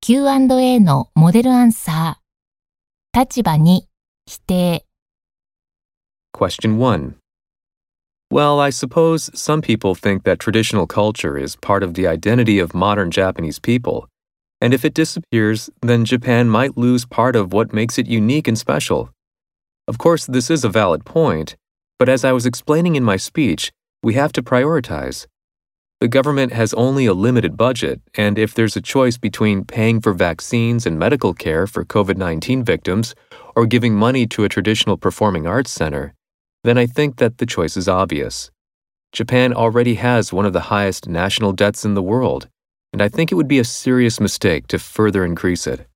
Q&A のモデルアンサー。立場2、否定。 Question 1. Well, I suppose some people think that traditional culture is part of the identity of modern Japanese people, and if it disappears, then Japan might lose part of what makes it unique and special. Of course, this is a valid point, but as I was explaining in my speech, we have to prioritize. The government has only a limited budget, and if there's a choice between paying for vaccines and medical care for COVID-19 victims or giving money to a traditional performing arts center, then I think that the choice is obvious. Japan already has one of the highest national debts in the world, and I think it would be a serious mistake to further increase it.